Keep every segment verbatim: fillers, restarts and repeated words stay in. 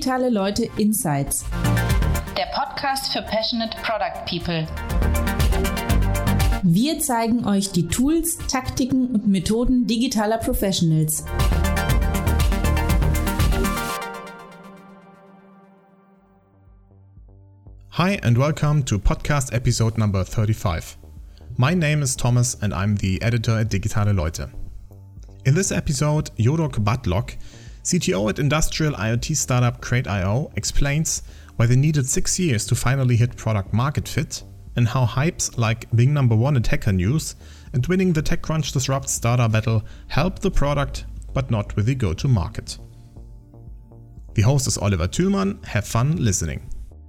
Digitale Leute Insights. Der Podcast für passionate Product People. Wir zeigen euch die Tools, Taktiken und Methoden digitaler Professionals. Hi and welcome to podcast episode number thirty-five. My name is Thomas and I'm the editor at Digitale Leute. In this episode, Jodok Batlock, C T O at industrial IoT startup Crate dot io, explains why they needed six years to finally hit product market fit and how hypes like being number one at Hacker News and winning the TechCrunch Disrupt starter battle help the product, but not with the go-to-market. The host is Oliver Thülmann. Have fun listening.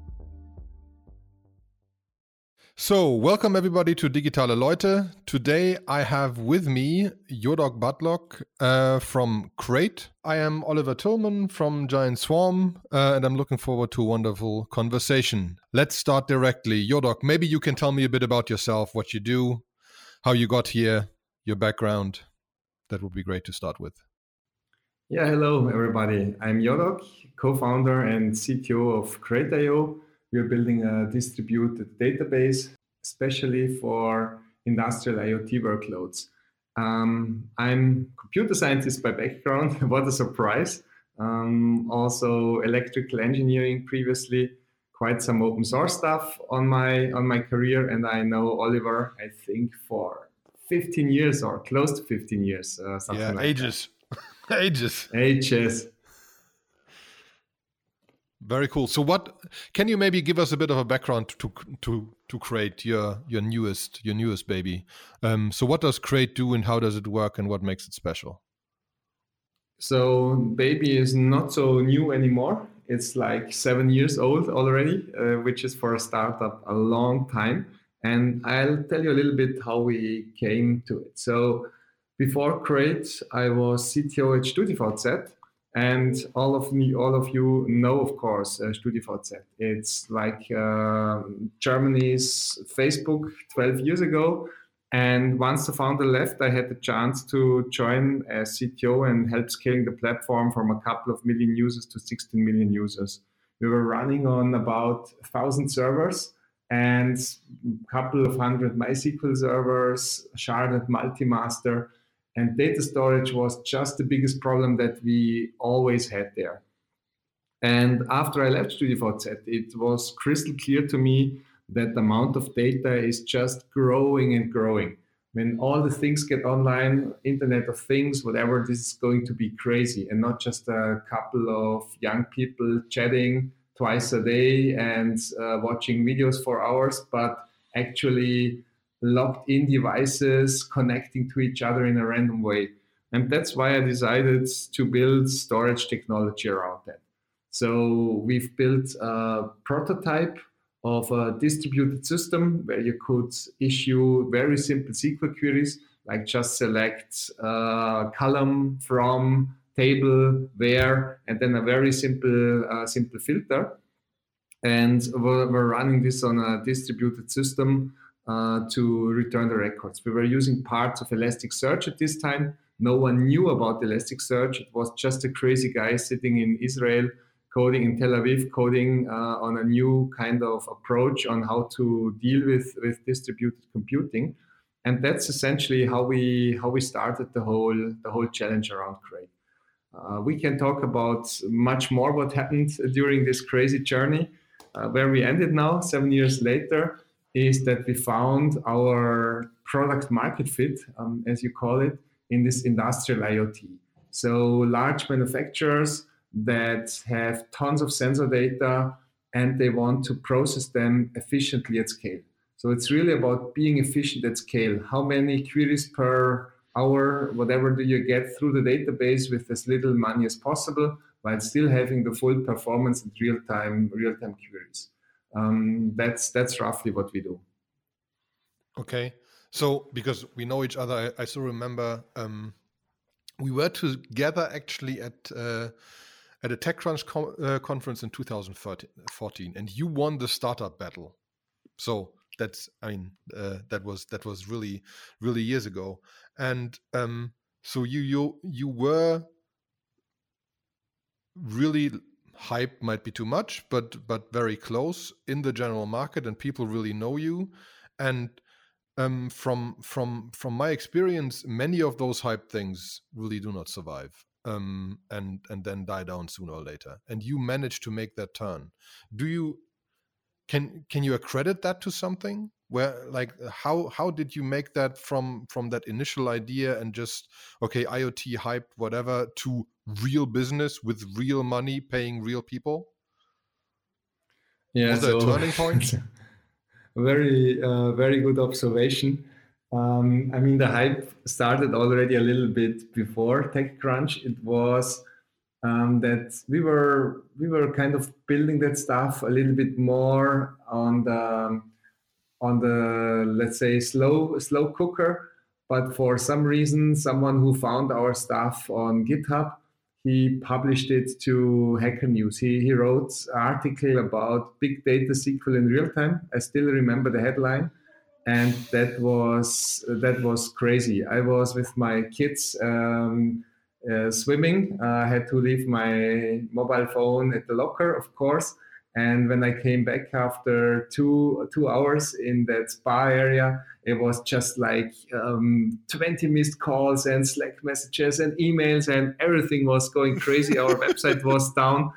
So, welcome everybody to Digitale Leute. Today I have with me Jodok Batlock uh, from Crate. I am Oliver Thülmann from Giant Swarm, uh, and I'm looking forward to a wonderful conversation. Let's start directly. Jodok, maybe you can tell me a bit about yourself, what you do, how you got here, your background. That would be great to start with. Yeah, hello everybody. I'm Jodok, co-founder and C T O of Crate dot io. We are building a distributed database, especially for industrial IoT workloads. Um, I'm a computer scientist by background. What a surprise. Um, also electrical engineering previously, quite some open source stuff on my on my career. And I know Oliver, I think, for fifteen years or close to fifteen years. Uh, something yeah, like ages. ages. Ages. Very cool. So, what can you maybe give us a bit of a background to to to Crate, your your newest your newest baby? Um, so, what does Crate do, and how does it work, and what makes it special? So, baby is not so new anymore. It's like seven years old already, uh, which is for a startup a long time. And I'll tell you a little bit how we came to it. So, before Crate, I was C T O at StudiVZ. And all of me, all of you know, of course, uh, StudiVZ. It's like uh, Germany's Facebook twelve years ago. And once the founder left, I had the chance to join as C T O and help scaling the platform from a couple of million users to sixteen million users. We were running on about one thousand servers and a couple of hundred MySQL servers, sharded multi-master. And data storage was just the biggest problem that we always had there. And after I left StudiVZ, it was crystal clear to me that the amount of data is just growing and growing. When all the things get online, Internet of Things, whatever, this is going to be crazy. And not just a couple of young people chatting twice a day and uh, watching videos for hours, but actually locked in devices connecting to each other in a random way. And that's why I decided to build storage technology around that. So we've built a prototype of a distributed system where you could issue very simple S Q L queries, like just select a column from table where, and then a very simple, uh, simple filter. And we're, we're running this on a distributed system Uh, to return the records. We were using parts of Elasticsearch at this time. No one knew about Elasticsearch. It was just a crazy guy sitting in Israel, coding in Tel Aviv, coding uh, on a new kind of approach on how to deal with, with distributed computing. And that's essentially how we how we started the whole the whole challenge around Crate. Uh, we can talk about much more what happened during this crazy journey. Uh, where we ended now, seven years later, is that we found our product market fit, um, as you call it, in this industrial IoT. So large manufacturers that have tons of sensor data and they want to process them efficiently at scale. So it's really about being efficient at scale. How many queries per hour, whatever do you get through the database with as little money as possible, while still having the full performance and real-time real-time queries. Um, that's that's roughly what we do. Okay, so because we know each other, I, I still remember um, we were together actually at uh, at a TechCrunch co- uh, conference in two thousand fourteen, and you won the startup battle. So that's I mean uh, that was that was really really years ago, and um, so you you you were really hype might be too much, but but very close in the general market, and people really know you. And um, from from from my experience, many of those hype things really do not survive, um, and and then die down sooner or later. And you managed to make that turn. Do you can can you accredit that to something? Where, like, how how did you make that from from that initial idea and just okay, IoT hype, whatever, to real business with real money, paying real people? Yeah, was there so, a turning point? very uh, very good observation. Um, I mean, the hype started already a little bit before TechCrunch. It was um, that we were we were kind of building that stuff a little bit more on the on the, let's say, slow slow cooker. But for some reason, someone who found our stuff on GitHub, he published it to Hacker News. He, he wrote an article about big data S Q L in real time. I still remember the headline. And that was that was crazy. I was with my kids um, uh, swimming. Uh, I had to leave my mobile phone at the locker, of course. And when I came back after two two hours in that spa area, it was just like um, twenty missed calls and Slack messages and emails, and everything was going crazy. Our website was down,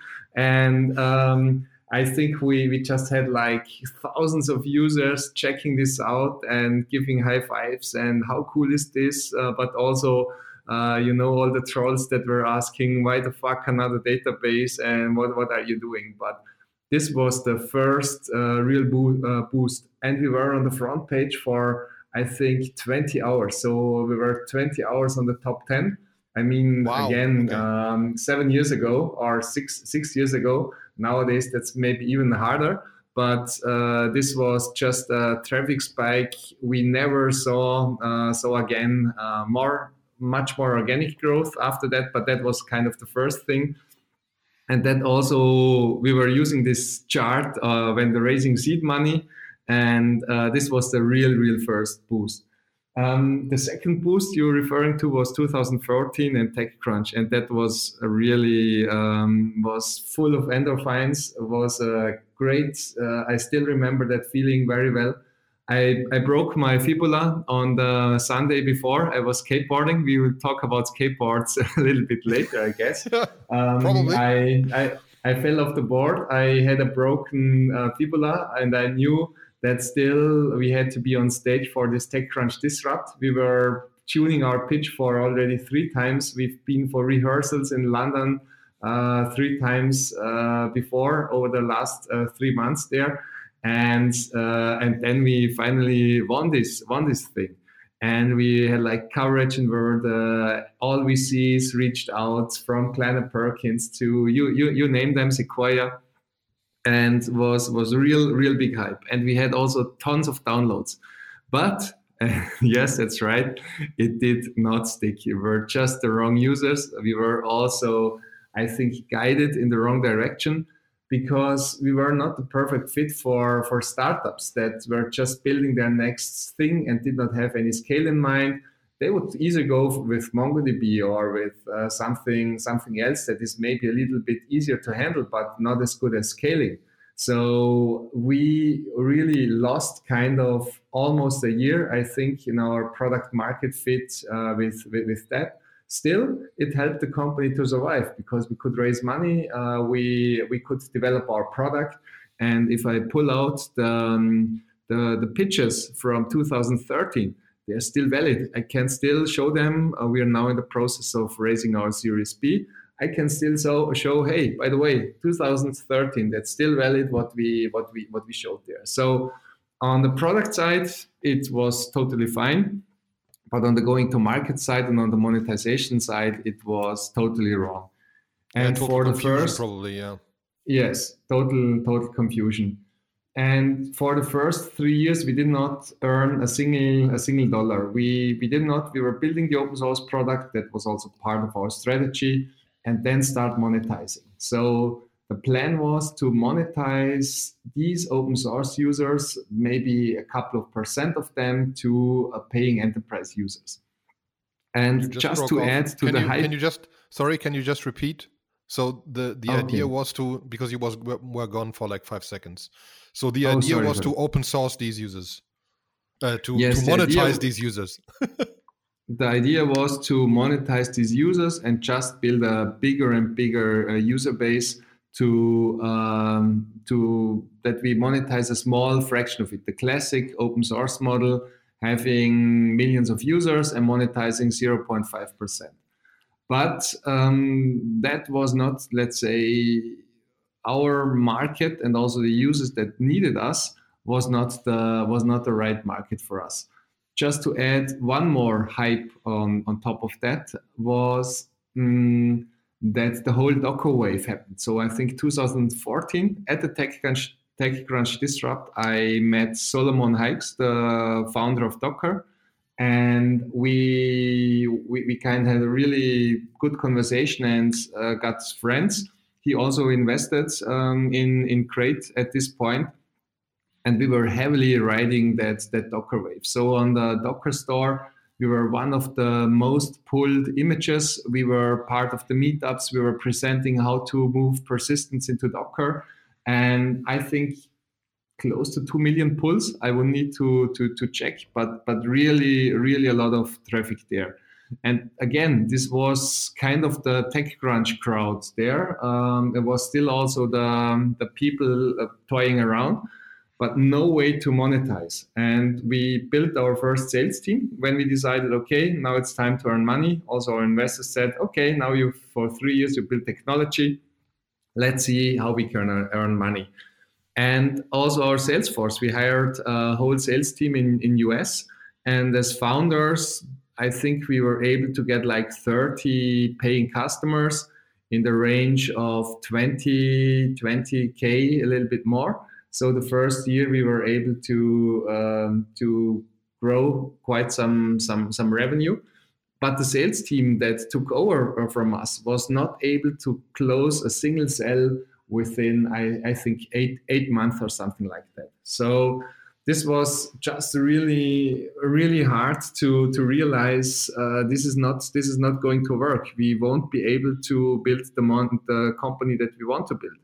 and um, I think we, we just had like thousands of users checking this out and giving high fives and how cool is this? Uh, but also, uh, you know, all the trolls that were asking, why the fuck another database and what, what are you doing? But this was the first uh, real bo- uh, boost. And we were on the front page for, I think, twenty hours. So we were twenty hours on the top ten. I mean, wow. again, okay. um, seven years ago or six six years ago. Nowadays, that's maybe even harder. But uh, this was just a traffic spike we never saw. Uh, so again, uh, more, much more organic growth after that. But that was kind of the first thing. And then also we were using this chart uh, when they're raising seed money. And uh, this was the real, real first boost. Um, the second boost you're referring to was two thousand fourteen and TechCrunch. And that was a really, um, was full of endorphins. It was a great, uh, I still remember that feeling very well. I, I broke my fibula on the Sunday before. I was skateboarding. We will talk about skateboards a little bit later, I guess. Um, Probably. I, I I fell off the board. I had a broken uh, fibula, and I knew that still we had to be on stage for this TechCrunch Disrupt. We were tuning our pitch for already three times. We've been for rehearsals in London uh, three times uh, before over the last uh, three months there. And uh, and then we finally won this won this thing, and we had like coverage, and where the all V Cs reached out, from Kleiner Perkins to you you you name them, Sequoia, and was was a real real big hype. And we had also tons of downloads, but uh, yes, that's right, it did not stick. We were just the wrong users. We were also, I think, guided in the wrong direction, because we were not the perfect fit for, for startups that were just building their next thing and did not have any scale in mind. They would either go with MongoDB or with uh, something something else that is maybe a little bit easier to handle, but not as good as scaling. So we really lost kind of almost a year, I think, in our product market fit uh, with, with, with that. Still, it helped the company to survive because we could raise money, uh, we we could develop our product, and if I pull out the um, the, the pitches from two thousand thirteen, they're still valid. I can still show them. Uh, we are now in the process of raising our Series B. I can still so, show, hey, by the way, two thousand thirteen, that's still valid. What we what we what we showed there. So on the product side, it was totally fine. But on the going to market side and on the monetization side, it was totally wrong. And yeah, for the first, probably, yeah. Yes, total, total confusion. And for the first three years, we did not earn a single, a single dollar. We, we did not. We were building the open source product. That was also part of our strategy, and then start monetizing. So the plan was to monetize these open source users, maybe a couple of percent of them, to uh, paying enterprise users. And just, just to off. add to can the you, hype. Can you just, sorry, can you just repeat So the, the Okay. idea was to, because you was were gone for like five seconds. So the Oh, idea sorry, was sorry. to open source these users, uh, to, Yes, to the monetize idea- these users. The idea was to monetize these users and just build a bigger and bigger uh, user base to um, to that we monetize a small fraction of it. The classic open source model, having millions of users and monetizing zero point five percent. But um, that was not, let's say, our market, and also the users that needed us was not the was not the right market for us. Just to add one more hype on, on top of that was um, that the whole Docker wave happened. So I think two thousand fourteen at the TechCrunch, TechCrunch Disrupt, I met Solomon Hykes, the founder of Docker, and we we, we kind of had a really good conversation and uh, got friends. He also invested um, in in Crate at this point. And we were heavily riding that, that Docker wave. So on the Docker store, we were one of the most pulled images. We were part of the meetups. We were presenting how to move persistence into Docker. And I think close to two million pulls. I will need to, to, to check, but, but really, really a lot of traffic there. And again, this was kind of the TechCrunch crowd there. Um, it was still also the, the people uh, toying around, but no way to monetize. And we built our first sales team when we decided, okay, now it's time to earn money. Also, our investors said, okay, now you for three years you build technology. Let's see how we can earn money. And also our sales force, we hired a whole sales team in, in U S. And as founders, I think we were able to get like thirty paying customers in the range of twenty, twenty K, a little bit more. So the first year we were able to um, to grow quite some some some revenue, but the sales team that took over from us was not able to close a single sale within I, I think eight eight months or something like that. So this was just really really hard to to realize uh, this is not this is not going to work. We won't be able to build the mon- the company that we want to build.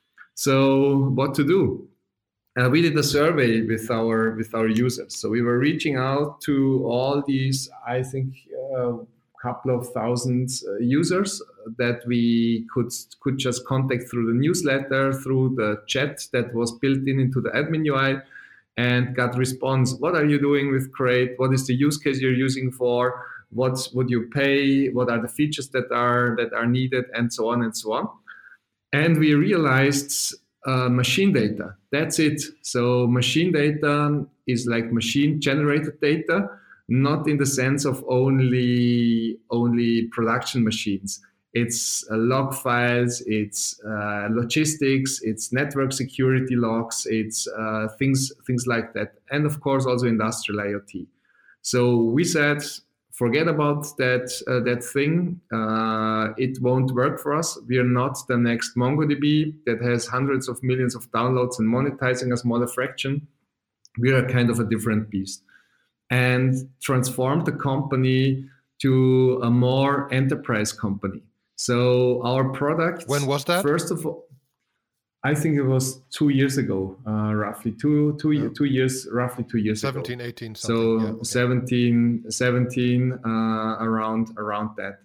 So what to do? Uh, we did a survey with our with our users. So we were reaching out to all these, I think, a uh, couple of thousand uh, users that we could could just contact through the newsletter, through the chat that was built in into the admin U I, and got response. What are you doing with Crate? What is the use case you're using for? What would you pay? What are the features that are that are needed, and so on and so on. And we realized uh, machine data. That's it. So machine data is like machine generated data, not in the sense of only only production machines. It's uh, log files, it's uh, logistics, it's network security logs, it's uh, things things like that, and of course also industrial IoT. So we said, forget about that uh, that thing. Uh, it won't work for us. We are not the next MongoDB that has hundreds of millions of downloads and monetizing a smaller fraction. We are kind of a different beast, and transformed the company to a more enterprise company. So our product. When was that? First of all, I think it was two years ago, uh, roughly two, two, yeah. two years, roughly two years seventeen, ago. eighteen, so something. Yeah, okay. seventeen, seventeen, uh, around, around that.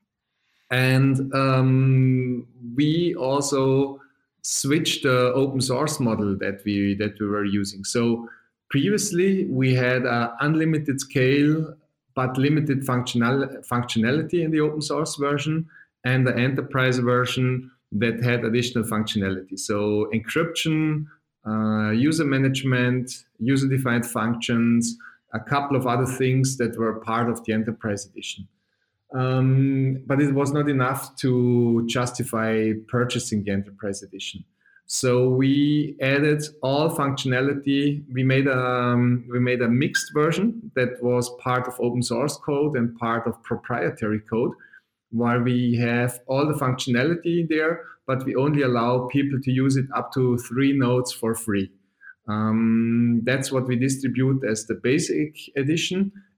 And um, we also switched the open source model that we that we were using. So previously we had an unlimited scale but limited functional functionality in the open source version, and the enterprise version that had additional functionality. So encryption, uh, user management, user-defined functions, a couple of other things that were part of the enterprise edition. Um, but it was not enough to justify purchasing the enterprise edition. So we added all functionality. We made a, um, we made a mixed version that was part of open source code and part of proprietary code, while we have all the functionality there, but we only allow people to use it up to three nodes for free. Um, that's what we distribute as the basic edition.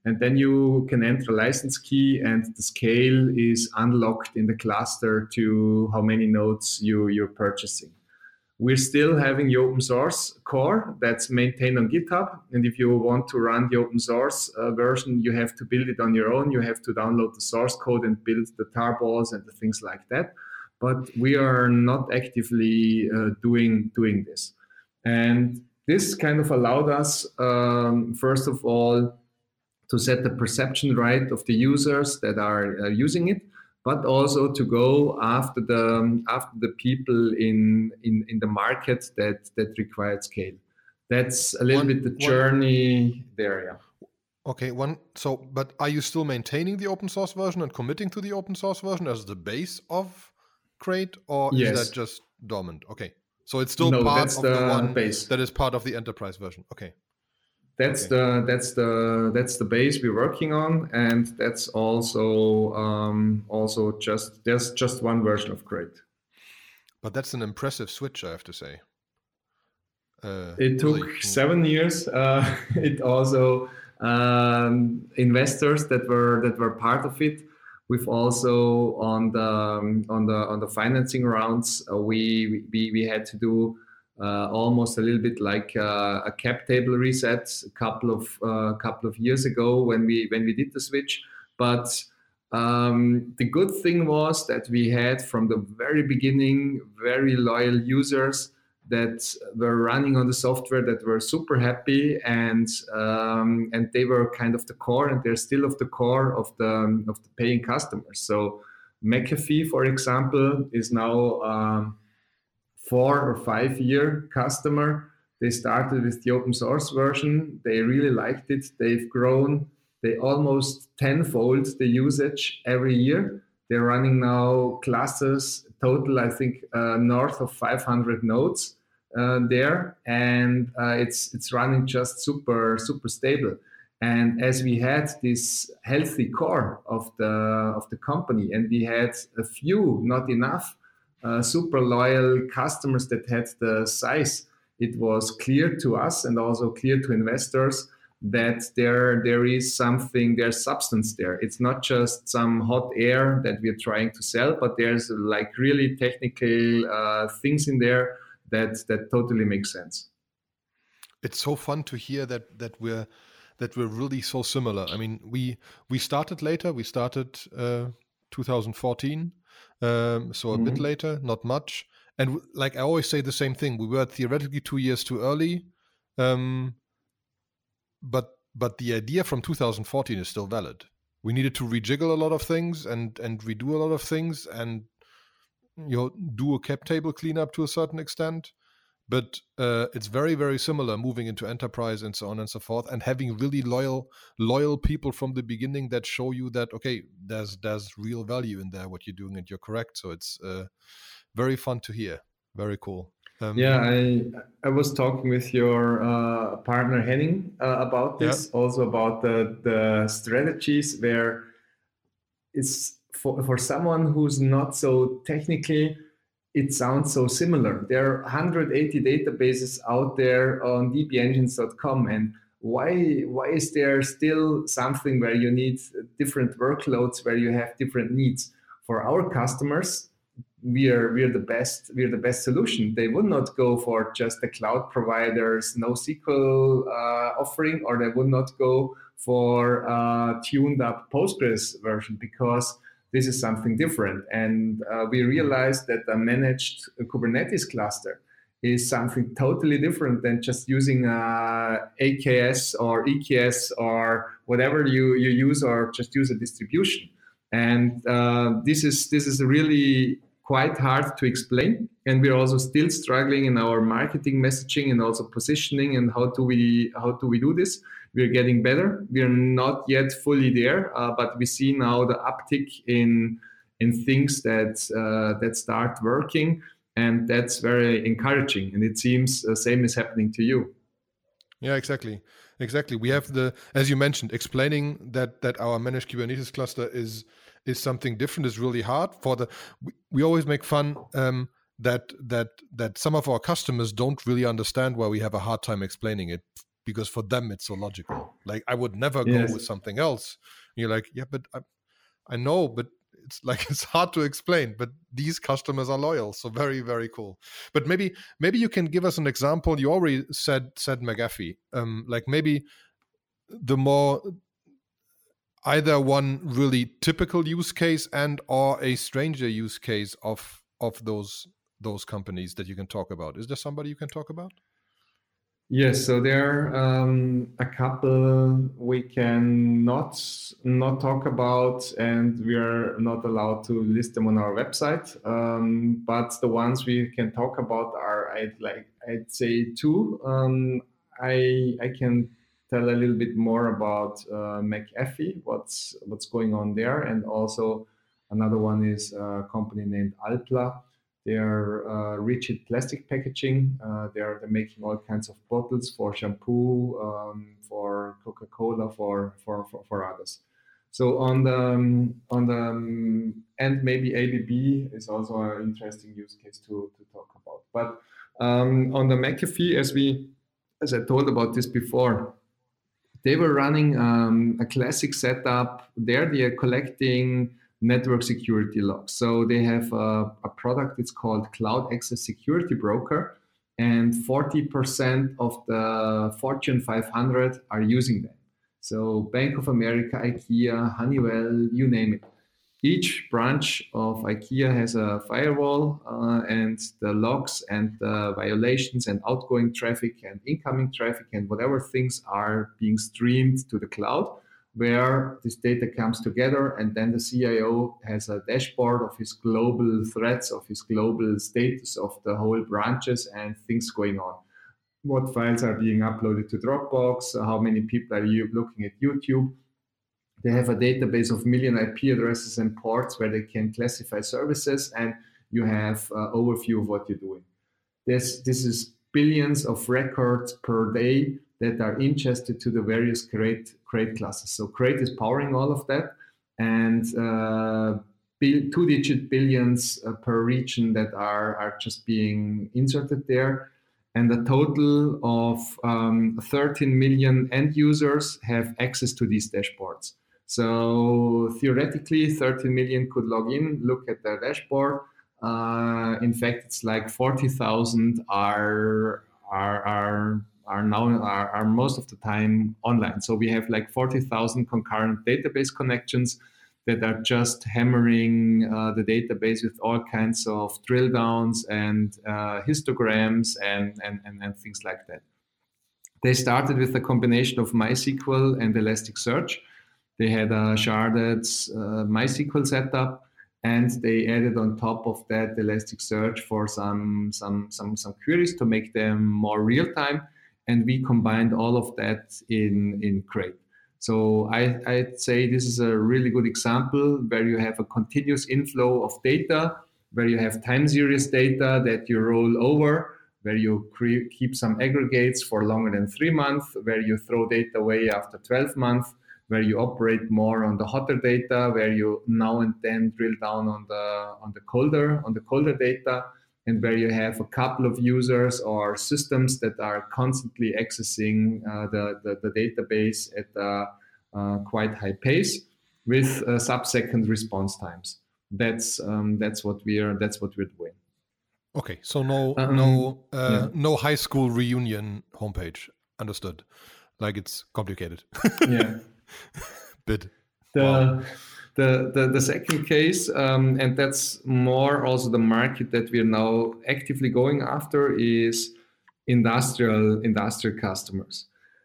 And then you can enter a license key, and the scale is unlocked in the cluster to how many nodes you, you're purchasing. We're still having the open source core that's maintained on GitHub. And if you want to run the open source uh, version, you have to build it on your own. You have to download the source code and build the tarballs and the things like that. But we are not actively uh, doing, doing this. And this kind of allowed us, um, first of all, to set the perception right of the users that are uh, using it, but also to go after the after the people in in, in the market that that required scale. That's a little one, bit the journey one, there. Yeah. Okay. One. So, but are you still maintaining the open source version and committing to the open source version as the base of Crate, or yes. is that just dormant? Okay. So it's still no, part of the, the one base. That is part of the enterprise version. Okay. That's okay. the that's the that's the base we're working on, and that's also um, also just there's just one version of Crate. But that's an impressive switch, I have to say. Uh, it took really... seven years. Uh, it also um, investors that were that were part of it. We've also on the um, on the on the financing rounds, uh, we we we had to do. Uh, almost a little bit like uh, a cap table reset a couple of uh, couple of years ago when we when we did the switch. But um, the good thing was that we had from the very beginning very loyal users that were running on the software that were super happy, and um, and they were kind of the core, and they're still of the core of the of the paying customers. So McAfee, for example, is now um, four or five year customer. They started with the open source version. They really liked it. They've grown. They almost tenfold the usage every year. They're running now classes total, I think, uh, north of five hundred nodes uh, there, and uh, it's it's running just super super stable. And as we had this healthy core of the of the company, and we had a few, not enough, Uh, super loyal customers that had the size, it was clear to us and also clear to investors that there there is something, there's substance there. It's not just some hot air that we're trying to sell, but there's like really technical uh, things in there that that totally make sense. It's so fun to hear that that we're that we're really so similar. I mean, we we started later. We started uh, two thousand fourteen. Um, so a mm-hmm. bit later, not much. And w- like I always say the same thing, we were theoretically two years too early. Um, but but the idea from two thousand fourteen is still valid. We needed to rejiggle a lot of things and, and redo a lot of things and you know do a cap table cleanup to a certain extent. But uh, it's very, very similar moving into enterprise and so on and so forth, and having really loyal, loyal people from the beginning that show you that, okay, there's there's real value in there, what you're doing, and you're correct. So it's uh, very fun to hear. Very cool. Um, yeah, I I was talking with your uh, partner Henning uh, about this, yeah. also about the, the strategies where it's for, for someone who's not so technically, it sounds so similar. There are one hundred eighty databases out there on d b engines dot com, and why why is there still something where you need different workloads, where you have different needs? For our customers, we are we are the best we are the best solution. They would not go for just the cloud provider's NoSQL uh, offering, or they would not go for a tuned up Postgres version, because this is something different. And uh, we realized that a managed Kubernetes cluster is something totally different than just using uh, A K S or E K S or whatever you, you use, or just use a distribution. And uh, this is this is really quite hard to explain. And we're also still struggling in our marketing messaging and also positioning, and how do we how do we do this? We're getting better. We're not yet fully there, uh, but we see now the uptick in in things that uh, that start working, and that's very encouraging. And it seems the same is happening to you. Yeah, exactly, exactly. We have the, as you mentioned, explaining that that our managed Kubernetes cluster is is something different is really hard. For the we, we always make fun um, that that that some of our customers don't really understand why we have a hard time explaining it. because for them it's so logical. Like I would never Yes. go with something else. And you're like, yeah, but I, I know, but it's like it's hard to explain. But these customers are loyal, so very, very cool. But maybe maybe you can give us an example. You already said said McAfee. Um, like maybe the more either one really typical use case and or a stranger use case of of those those companies that you can talk about. Is there somebody you can talk about? Yes, so there are um, a couple we can not not talk about, and we are not allowed to list them on our website. Um, but the ones we can talk about are, I'd like, I'd say two. Um, I I can tell a little bit more about uh, McAfee, what's what's going on there, and also another one is a company named Alpla. They're uh, rigid plastic packaging. Uh, they're, they're making all kinds of bottles for shampoo, um, for Coca-Cola, for, for, for, for others. So on the, um, on the um, and maybe A B B is also an interesting use case to, to talk about. But um, on the McAfee, as we, as I told about this before, they were running um, a classic setup. There they are collecting network security logs. So they have a, a product, it's called Cloud Access Security Broker, and forty percent of the Fortune five hundred are using them. So Bank of America, IKEA, Honeywell, you name it. Each branch of IKEA has a firewall uh, and the logs and the violations and outgoing traffic and incoming traffic and whatever things are being streamed to the cloud, where this data comes together, and then the C I O has a dashboard of his global threats, of his global status of the whole branches and things going on. What files are being uploaded to Dropbox? How many people are you looking at YouTube? They have a database of million I P addresses and ports where they can classify services, and you have an overview of what you're doing. This, this is billions of records per day that are ingested to the various crate, crate classes. So crate is powering all of that, and uh, two-digit billions uh, per region that are, are just being inserted there. And a total of um, thirteen million end users have access to these dashboards. So theoretically, thirteen million could log in, look at their dashboard. Uh, in fact, it's like forty thousand are, are, are are now are, are most of the time online. So we have like forty thousand concurrent database connections that are just hammering uh, the database with all kinds of drill downs and uh, histograms and, and, and, and things like that. They started with a combination of MySQL and Elasticsearch. They had a sharded uh, MySQL setup, and they added on top of that Elasticsearch for some, some, some, some queries to make them more real-time. And we combined all of that in, in Crate. So I, I'd say this is a really good example where you have a continuous inflow of data, where you have time series data that you roll over, where you cre- keep some aggregates for longer than three months, where you throw data away after twelve months, where you operate more on the hotter data, where you now and then drill down on the on the colder on the colder data, and where you have a couple of users or systems that are constantly accessing uh, the, the, the database at a uh, quite high pace with uh, sub-second response times. That's um, that's what we are. That's what we're doing. Okay, so no um, no uh, yeah. no high school reunion homepage. Understood. Like it's complicated. Yeah. Bit. The, wow. The, the, the second case, um, and that's more also the market that we are now actively going after, is industrial industrial customers.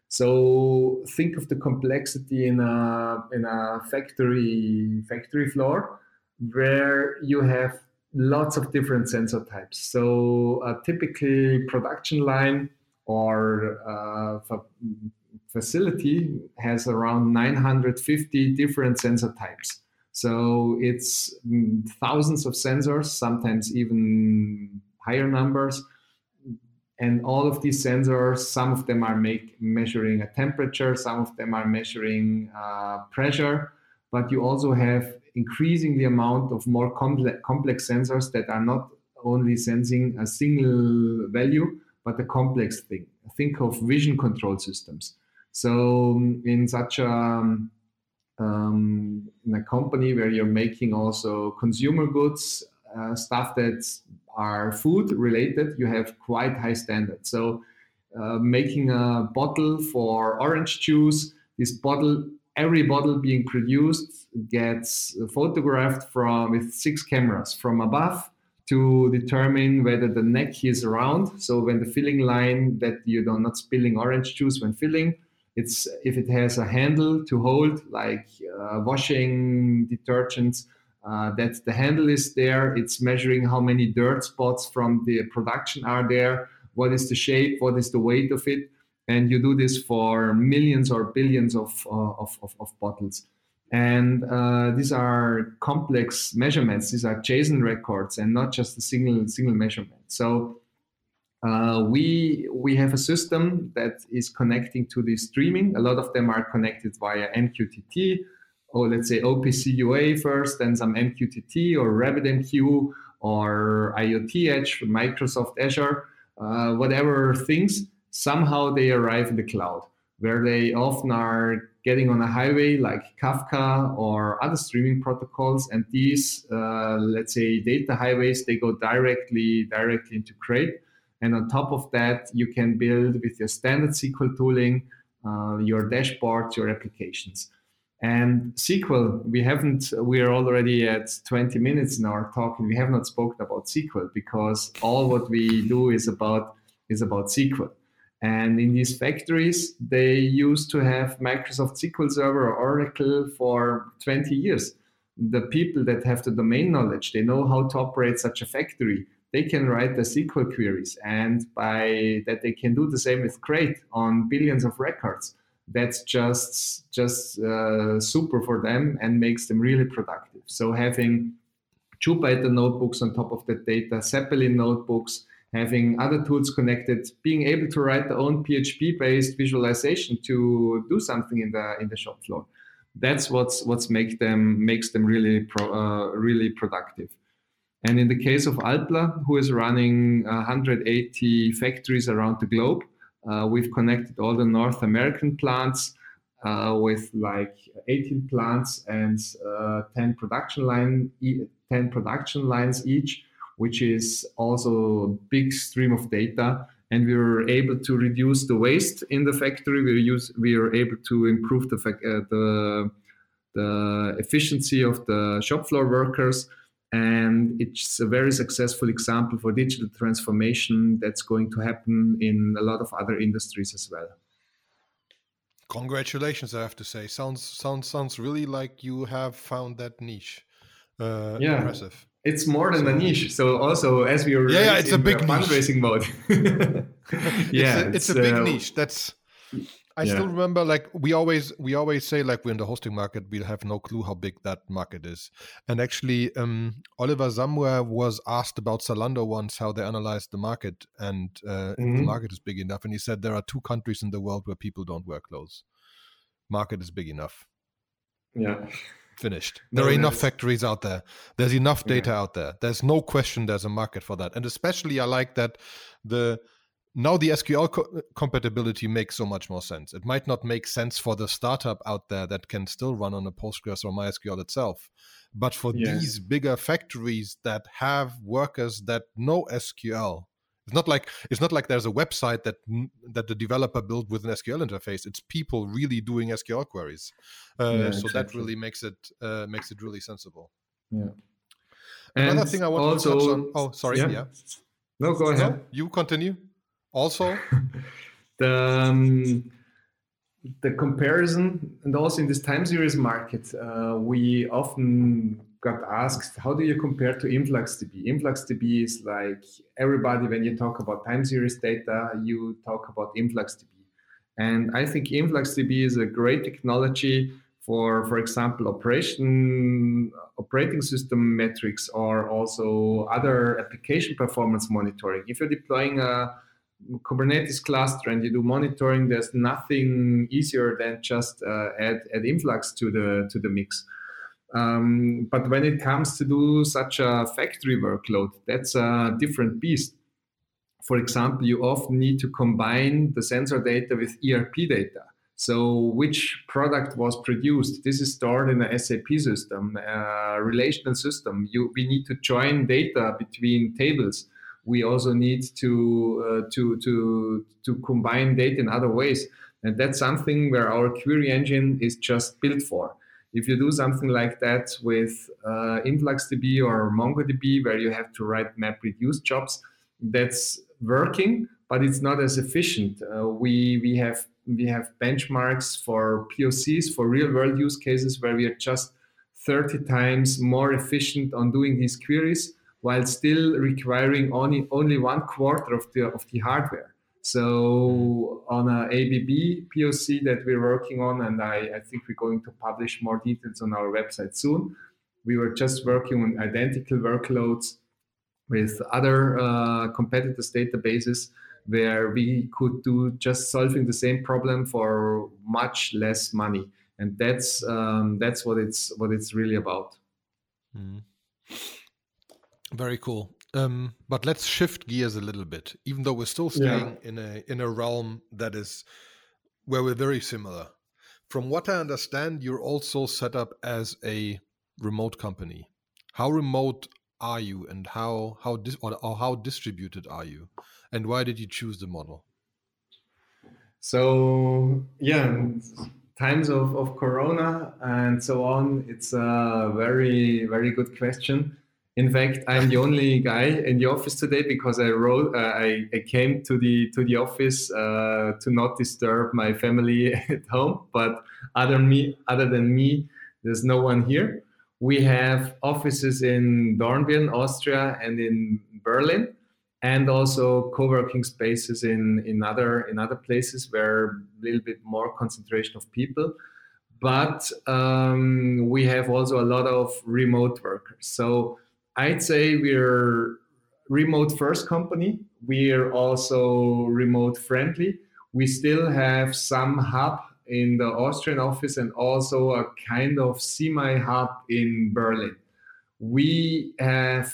So think of the complexity in a in a factory factory floor where you have lots of different sensor types. So a typically production line or uh, fa- facility has around nine hundred fifty different sensor types. So it's thousands of sensors, sometimes even higher numbers. And all of these sensors, some of them are make, measuring a temperature, some of them are measuring uh, pressure, but you also have increasingly amount of more complex, complex sensors that are not only sensing a single value, but a complex thing. think of vision control systems. So in such a, um, in a company where you're making also consumer goods, uh, stuff that are food related, you have quite high standards. So uh, making a bottle for orange juice, this bottle, every bottle being produced gets photographed from with six cameras from above to determine whether the neck is round. So when the filling line, that you are not spilling orange juice when filling, it's if it has a handle to hold, like uh, washing detergents, uh, that the handle is there. It's measuring how many dirt spots from the production are there, what is the shape, what is the weight of it. And you do this for millions or billions of, uh, of, of, of bottles. And uh, these are complex measurements. These are JSON records and not just a single single measurement. So uh, we we have a system that is connecting to the streaming. A lot of them are connected via M Q T T, or let's say O P C U A first, then some M Q T T or RabbitMQ or IoT Edge from Microsoft Azure, uh, whatever things. Somehow they arrive in the cloud, where they often are getting on a highway like Kafka or other streaming protocols. And these, uh, let's say, data highways, they go directly, directly into Crate. And on top of that, you can build with your standard S Q L tooling, uh, your dashboards, your applications. And S Q L, we haven't, we are already at twenty minutes in our talk, and we have not spoken about S Q L because all what we do is about, is about S Q L. And in these factories, they used to have Microsoft S Q L Server or Oracle for twenty years. The people that have the domain knowledge, they know how to operate such a factory. They can write the S Q L queries, and by that they can do the same with Crate on billions of records. That's just just uh, super for them and makes them really productive. So having Jupyter notebooks on top of that data, Zeppelin notebooks, having other tools connected, being able to write their own P H P-based visualization to do something in the in the shop floor. That's what's what's make them makes them really pro, uh, really productive. And in the case of Alpla, who is running one hundred eighty factories around the globe, uh, we've connected all the North American plants uh, with like eighteen plants and uh, ten production line ten production lines each, which is also a big stream of data. And we were able to reduce the waste in the factory. We use we were able to improve the uh, the the efficiency of the shop floor workers. And it's a very successful example for digital transformation that's going to happen in a lot of other industries as well. Congratulations, I have to say. Sounds sounds sounds really like you have found that niche. Uh, yeah, impressive. It's more than so, a niche. So also, as we were yeah, yeah it's a big fundraising mode. yeah, it's a, it's it's a big uh, niche. That's. I yeah. still remember, like we always we always say, like we're in the hosting market, we have no clue how big that market is. And actually, um, Oliver Samwer was asked about Zalando once, how they analyzed the market, and uh, mm-hmm. if the market is big enough. And he said there are two countries in the world where people don't wear clothes. Market is big enough. Yeah. Finished. There no, are enough factories out there. There's enough data yeah. out there. There's no question there's a market for that. And especially I like that the now the S Q L co- compatibility makes so much more sense. It might not make sense for the startup out there that can still run on a Postgres or MySQL itself. But for yeah. these bigger factories that have workers that know S Q L, it's not like it's not like there's a website that that the developer built with an S Q L interface. It's people really doing S Q L queries. Uh, yeah, so exactly. that really makes it uh, makes it really sensible. Yeah. Another and thing I want also, to touch on. Oh, sorry. Yeah. yeah. No, go ahead. No, you continue. Also, the um, the comparison, and also in this time series market, uh, we often got asked, how do you compare to InfluxDB? InfluxDB is like everybody, when you talk about time series data, you talk about InfluxDB. And I think InfluxDB is a great technology for, for example, operation, operating system metrics, or also other application performance monitoring. If you're deploying a Kubernetes cluster and you do monitoring, there's nothing easier than just uh, add, add Influx to the to the mix. Um, but when it comes to do such a factory workload, that's a different beast. for example, you often need to combine the sensor data with E R P data. So which product was produced? This is stored in a S A P system, a relational system. You, we need to join data between tables. We also need to, uh, to, to, to combine data in other ways. And that's something where our query engine is just built for. If you do something like that with uh, InfluxDB or MongoDB, where you have to write MapReduce jobs, that's working, but it's not as efficient. Uh, we, we have We have benchmarks for P O Cs, for real-world use cases, where we are just thirty times more efficient on doing these queries, while still requiring only only one quarter of the of the hardware. So on a A B B P O C that we're working on, and I, I think we're going to publish more details on our website soon, we were just working on identical workloads with other uh, competitors' databases, where we could do just solving the same problem for much less money, and that's um, that's what it's what it's really about. Mm. Very cool. Um, but let's shift gears a little bit, even though we're still staying yeah. in a in a realm that is where we're very similar. From what I understand, you're also set up as a remote company. How remote are you, and how how dis- or, or how distributed are you? And why did you choose the model? So, yeah, times of, of Corona and so on, it's a very, very good question. In fact, I'm the only guy in the office today because I wrote, uh, I, I came to the to the office uh, to not disturb my family at home. But other me, other than me, there's no one here. We have offices in Dornbirn, Austria, and in Berlin, and also co-working spaces in, in other in other places where a little bit more concentration of people. But um, we have also a lot of remote workers. So I'd say we're remote first company. We're also remote friendly. We still have some hub in the Austrian office and also a kind of semi-hub in Berlin. We have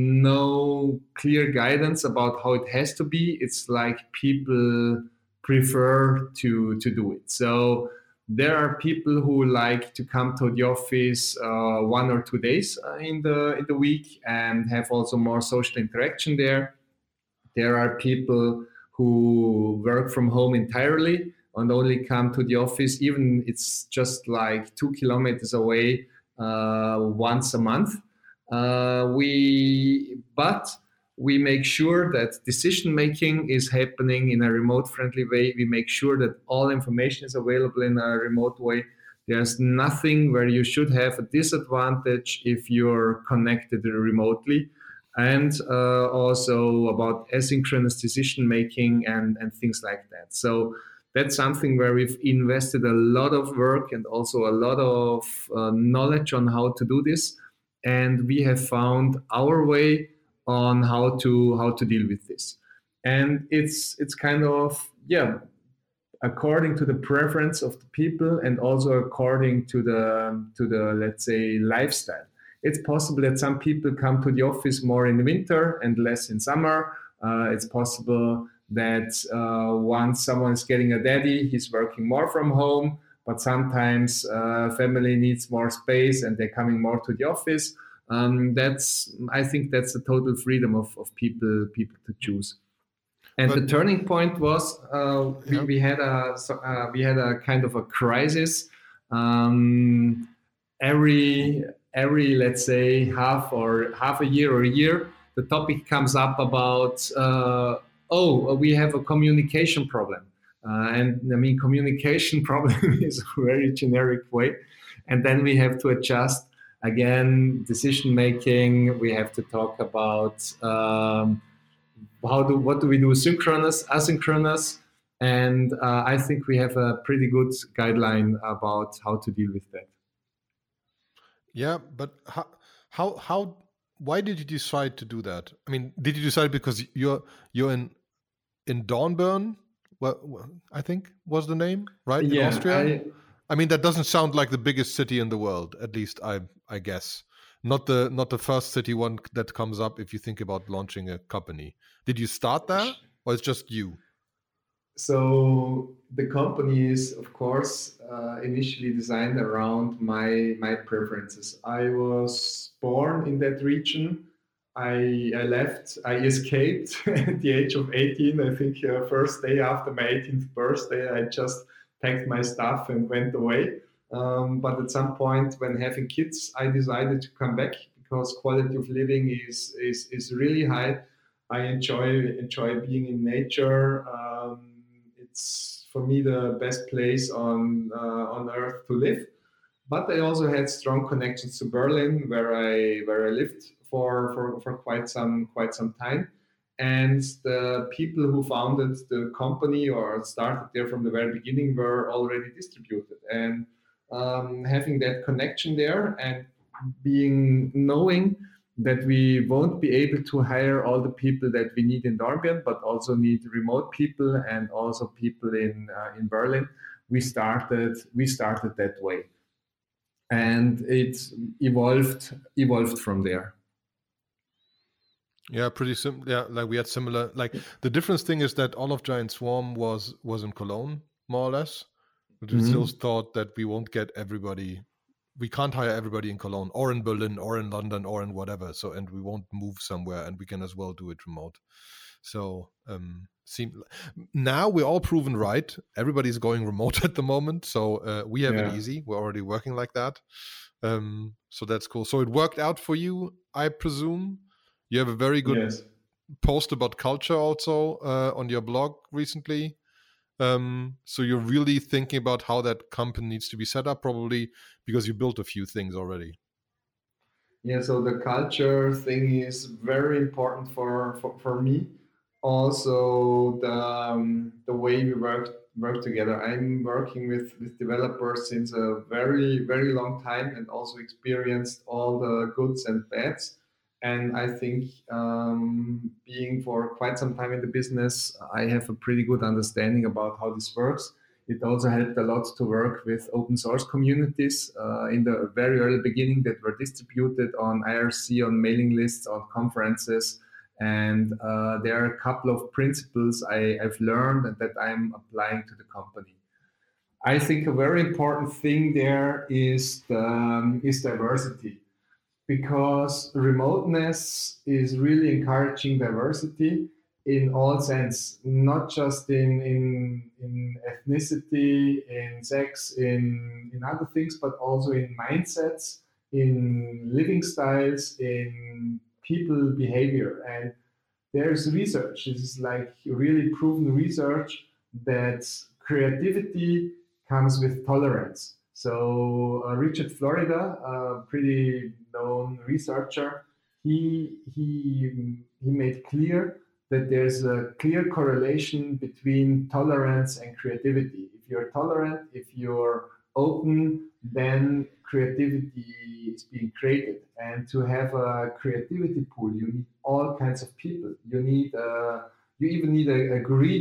no clear guidance about how it has to be. It's like people prefer to, to do it. So there are people who like to come to the office uh, one or two days uh, in the in the week and have also more social interaction there. There are people who work from home entirely and only come to the office, even it's just like two kilometers away uh, once a month. Uh, we, but we make sure that decision making is happening in a remote friendly way. We make sure that all information is available in a remote way. There's nothing where you should have a disadvantage if you're connected remotely. And uh, also about asynchronous decision making and, and things like that. So that's something where we've invested a lot of work and also a lot of uh, knowledge on how to do this. And we have found our way on how to how to deal with this. And it's it's kind of, yeah, according to the preference of the people and also according to the to the let's say lifestyle. It's possible that some people come to the office more in the winter and less in summer. Uh, it's possible that uh, once someone is getting a daddy, he's working more from home, but sometimes uh, family needs more space and they're coming more to the office. Um, that's, I think that's the total freedom of, of people people to choose. And but, the turning point was uh, we, yeah. we had a uh, we had a kind of a crisis. Um, every every let's say half or half a year or a year, the topic comes up about uh, oh, we have a communication problem. Uh, and I mean, communication problem is a very generic way. And then we have to adjust again, decision making. We have to talk about um, how do, what do we do synchronous, asynchronous. And uh, I think we have a pretty good guideline about how to deal with that. Yeah, but how, how, how, why did you decide to do that? I mean, did you decide because you're, you're in, in Dornbirn? Well, I think was the name, right? In yeah, Austria? I, I mean, that doesn't sound like the biggest city in the world, at least I I guess. not the not the first city one that comes up if you think about launching a company. Did you start there, or it's just you? So the company is, of course, uh, initially designed around my my preferences. I was born in that region. I, I left, I escaped at the age of eighteen. I think uh, first day after my eighteenth birthday, I just packed my stuff and went away. Um, but at some point when having kids, I decided to come back because quality of living is, is, is really high. I enjoy, enjoy being in nature. Um, it's for me the best place on, uh, on earth to live. But I also had strong connections to Berlin, where I where I lived for, for, for quite some quite some time. And the people who founded the company or started there from the very beginning were already distributed. And um, having that connection there and being knowing that we won't be able to hire all the people that we need in Dornbirn, but also need remote people and also people in uh, in Berlin, we started we started that way. And it evolved evolved from there. Yeah, pretty sim. Yeah, like we had similar. Like the difference thing is that all of Giant Swarm was was in Cologne, more or less. But we mm-hmm. still thought that we won't get everybody. We can't hire everybody in Cologne or in Berlin or in London or in whatever. So and we won't move somewhere, and we can as well do it remote. So um, seem now we're all proven right. Everybody's going remote at the moment, so uh, we have yeah. it easy. We're already working like that, um, so that's cool. So it worked out for you, I presume. You have a very good yes. post about culture also uh, on your blog recently. Um, so you're really thinking about how that company needs to be set up, probably because you built a few things already. Yeah, so the culture thing is very important for, for, for me. Also, the um, the way we work work together. I'm working with, with developers since a very, very long time and also experienced all the goods and bads. And I think um, being for quite some time in the business, I have a pretty good understanding about how this works. It also helped a lot to work with open source communities uh, in the very early beginning that were distributed on I R C, on mailing lists, on conferences. And uh, there are a couple of principles I, I've learned and that I'm applying to the company. I think a very important thing there is the, um, is diversity, because remoteness is really encouraging diversity in all sense, not just in, in, in ethnicity, in sex, in, in other things, but also in mindsets, in living styles, in people behavior. And there's research, this is like really proven research, that creativity comes with tolerance. So uh, Richard Florida, a pretty known researcher, he, he, he made clear that there's a clear correlation between tolerance and creativity. If you're tolerant, if you're open, then creativity is being created. And to have a creativity pool, you need all kinds of people. You need, uh, you even need a, a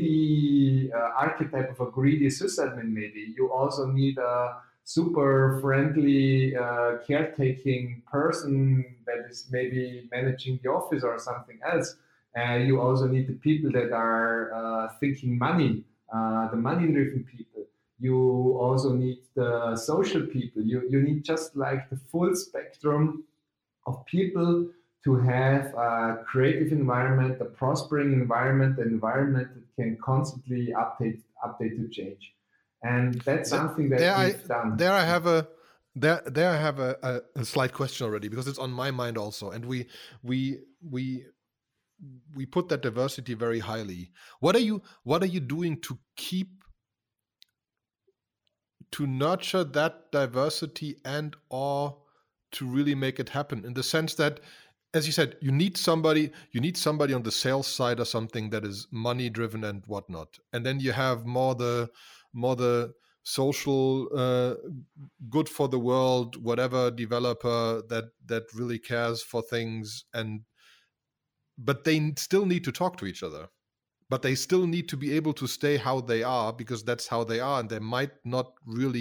greedy uh, archetype of a greedy sysadmin. Maybe you also need a super friendly uh, caretaking person that is maybe managing the office or something else. And uh, you also need the people that are uh, thinking money, uh, the money-driven people. You also need the social people. You, you need just like the full spectrum of people to have a creative environment, a prospering environment, an environment that can constantly update, update to change. And that's something that there we've I, done. There I have a there there I have a, a, a slight question already, because it's on my mind also, and we we we we put that diversity very highly. What are you what are you doing to keep to nurture that diversity and or to really make it happen, in the sense that, as you said, you need somebody you need somebody on the sales side or something that is money driven and whatnot, and then you have more the more the social, uh, good for the world, whatever developer that that really cares for things, and but they still need to talk to each other. But they still need to be able to stay how they are, because that's how they are, and they might not really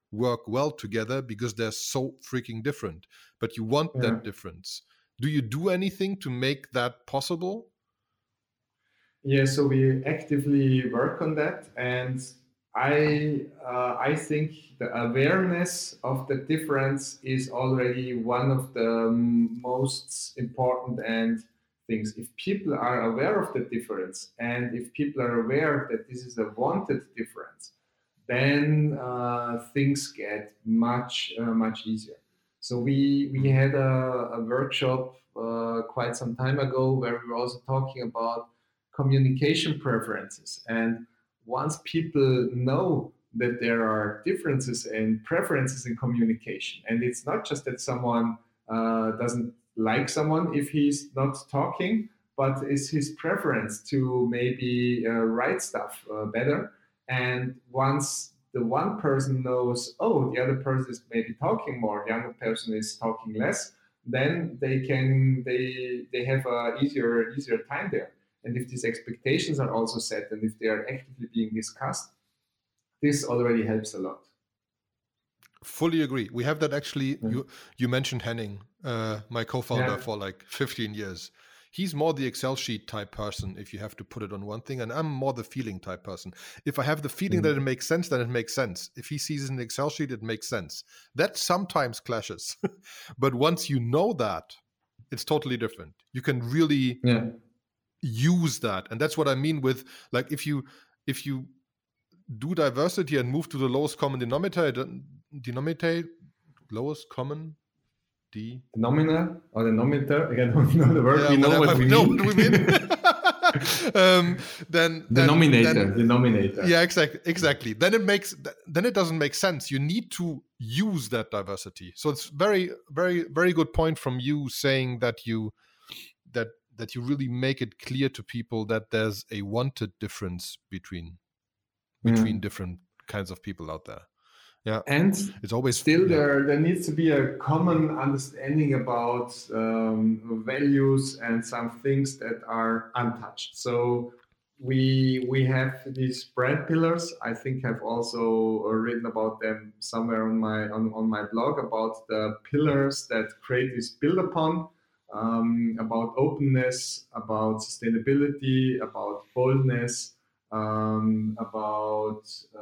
work well together because they're so freaking different. But you want Yeah. that difference. Do you do anything to make that possible? Yeah, so we actively work on that, and I uh, I think the awareness of the difference is already one of the most important and things. If people are aware of the difference, and if people are aware that this is a wanted difference, then uh, things get much uh, much easier. So we we had a, a workshop uh, quite some time ago where we were also talking about communication preferences. And once people know that there are differences and preferences in communication, and it's not just that someone uh, doesn't like someone if he's not talking, but it's his preference to maybe uh, write stuff uh, better. And once the one person knows, oh, the other person is maybe talking more, the other person is talking less, then they can they they have a easier easier time there. And if these expectations are also set and if they are actively being discussed, this already helps a lot. Fully agree. We have that actually. Yeah. You you mentioned Henning, uh, my co-founder Yeah. for like fifteen years. He's more the Excel sheet type person if you have to put it on one thing, and I'm more the feeling type person. If I have the feeling Mhm. that it makes sense, then it makes sense. If he sees an Excel sheet, it makes sense. That sometimes clashes, but once you know that, it's totally different. You can really Yeah. use that, and that's what I mean with like if you if you do diversity and move to the lowest common denominator, denominator, lowest common D. Nominal or the denominator, I don't know the word, Yeah, we know whatever, what we we know mean. what we mean. um, then then- Denominator, then- denominator. yeah, exactly, exactly. Then it makes then it doesn't make sense. You need to use that diversity. So it's very, very, very good point from you saying that you that that you really make it clear to people that there's a wanted difference between between Yeah. different kinds of people out there. Yeah, And it's always still yeah. there there needs to be a common understanding about um, values and some things that are untouched. So we we have these brand pillars. I think I've also written about them somewhere on my on, on my blog about the pillars that creators build upon, um, about openness, about sustainability, about boldness, um, about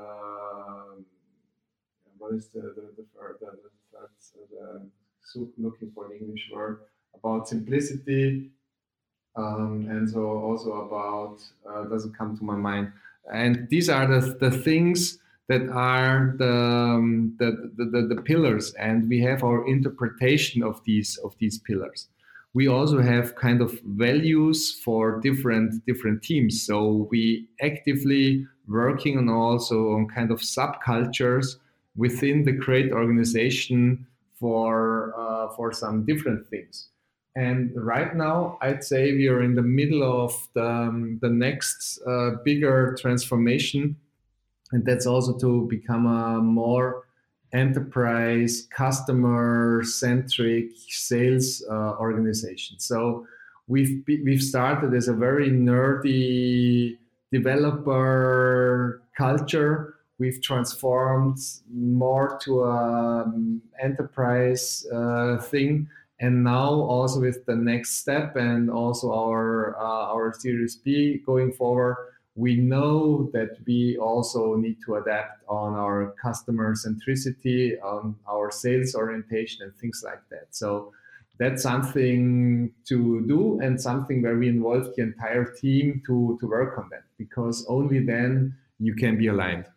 uh, what is the the the third the, the, third, the so looking for an English word, about simplicity, um, and so also about uh, doesn't come to my mind. And these are the the things that are the, um, the, the, the the pillars, and we have our interpretation of these of these pillars. We also have kind of values for different different teams. So we actively working on also on kind of subcultures within the Create organization for uh, for some different things. And right now, I'd say we are in the middle of the, um, the next uh, bigger transformation, and that's also to become a more enterprise, customer-centric sales uh, organization. So we've we've started as a very nerdy developer culture. We've transformed more to an enterprise uh, thing, and now also with the next step and also our uh, our Series B going forward, we know that we also need to adapt on our customer centricity, on our sales orientation, and things like that. So that's something to do and something where we involve the entire team to to work on that, because only then you can be aligned.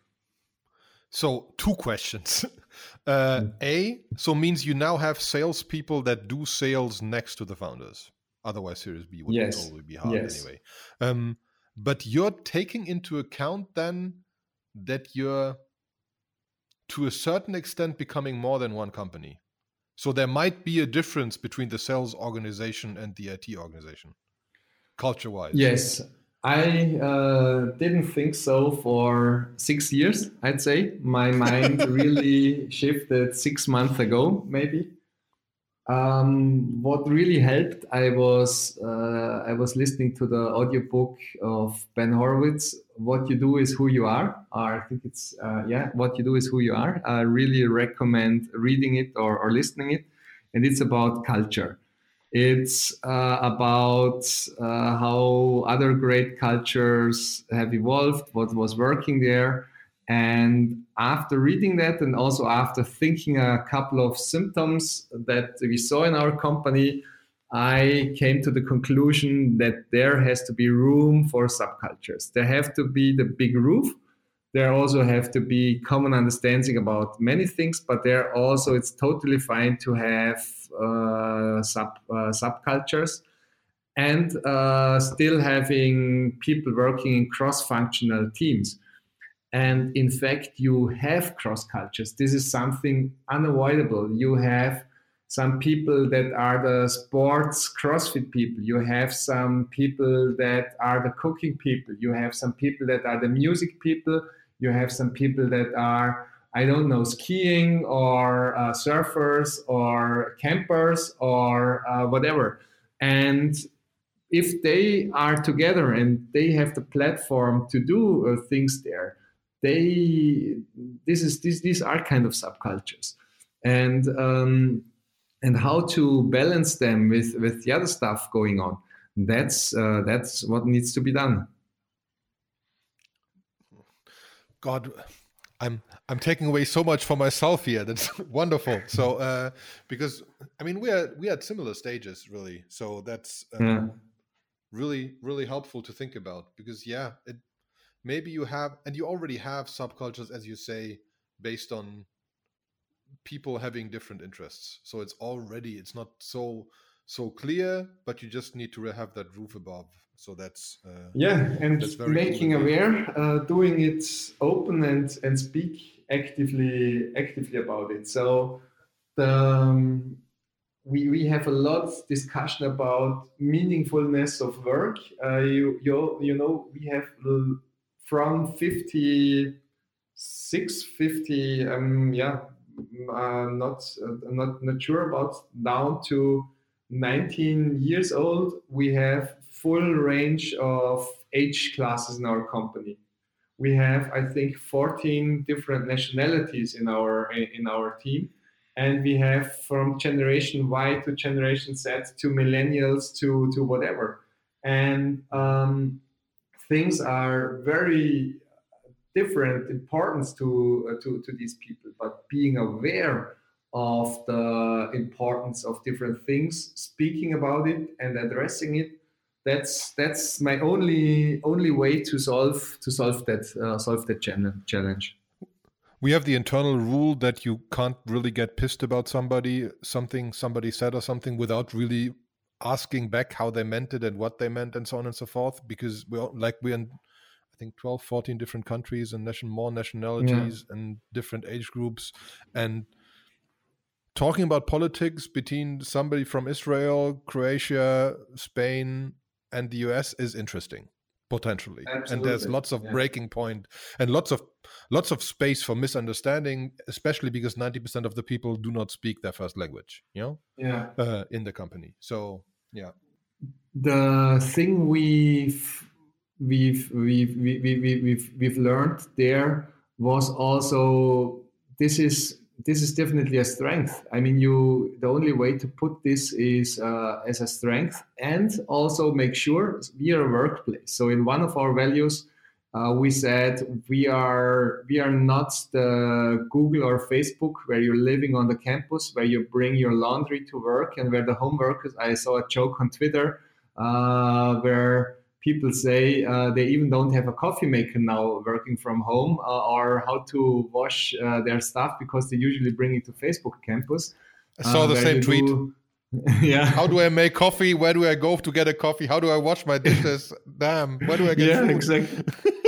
So two questions. Uh, mm. A, so means you now have salespeople that do sales next to the founders. Otherwise, Series B would yes. probably be hard yes. anyway. Um, but you're taking into account then that you're, to a certain extent, becoming more than one company. So there might be a difference between the sales organization and the I T organization, culture-wise. Yes. I uh, didn't think so for six years, I'd say. My mind really shifted six months ago, maybe. Um, what really helped, I was uh, I was listening to the audiobook of Ben Horowitz, what you do is who you are, or I think it's, uh, yeah, what you do is who you are. I really recommend reading it or, or listening it. And it's about culture. It's uh, about uh, how other great cultures have evolved, what was working there. And after reading that, and also after thinking a couple of symptoms that we saw in our company, I came to the conclusion that there has to be room for subcultures. There have to be the big roof. There also have to be common understanding about many things, but there also it's totally fine to have uh, sub uh, subcultures, and uh, still having people working in cross-functional teams. And in fact, you have cross cultures. This is something unavoidable. You have some people that are the sports CrossFit people. You have some people that are the cooking people. You have some people that are the music people. You have some people that are, I don't know, skiing or uh, surfers or campers or uh, whatever. And if they are together and they have the platform to do uh, things there, they this is this these are kind of subcultures, and um, and how to balance them with with the other stuff going on. That's uh, that's what needs to be done. God, I'm I'm taking away so much for myself here. That's wonderful. So uh, because I mean we are we are at similar stages really. So that's um, Yeah. really really helpful to think about, because yeah, it, maybe you have, and you already have subcultures, as you say, based on people having different interests. So it's already it's not so so clear, but you just need to have that roof above. So that's uh, Yeah, and that's very making cool. aware, uh, doing it open and and speak actively actively about it. So the um, we we have a lot of discussion about meaningfulness of work. Uh, you you you know we have l- from fifty-six, fifty, um yeah, uh, not uh, not not sure about, down to nineteen years old. We have full range of age classes in our company. We have, I think, fourteen different nationalities in our in our team, and we have from generation Y to generation Z to millennials to to whatever, and um, things are very different importance to uh, to to these people. But being aware of the importance of different things, speaking about it and addressing it, that's that's my only only way to solve to solve that uh, solve that challenge. We have the internal rule that you can't really get pissed about somebody, something somebody said or something, without really asking back how they meant it and what they meant and so on and so forth, because we're like we're in I think twelve, fourteen different countries and nation more nationalities yeah. and different age groups, and talking about politics between somebody from Israel, Croatia, Spain, and the U S is interesting, potentially. Absolutely. And there's lots of yeah. breaking point and lots of lots of space for misunderstanding, especially because ninety percent of the people do not speak their first language, you know, yeah, uh, in the company. So, yeah. The thing we've we've we've we, we, we, we've we've learned there was also this is this is definitely a strength. I mean, you the only way to put this is uh, as a strength, and also make sure we are a workplace. So in one of our values, uh, we said we are we are not the Google or Facebook where you're living on the campus, where you bring your laundry to work, and where the home workers. I saw a joke on Twitter uh, where people say uh, they even don't have a coffee maker now working from home, uh, or how to wash uh, their stuff because they usually bring it to Facebook campus. I saw uh, the same tweet. Do... yeah. How do I make coffee? Where do I go to get a coffee? How do I wash my dishes? Damn. Where do I get yeah, food? Exactly.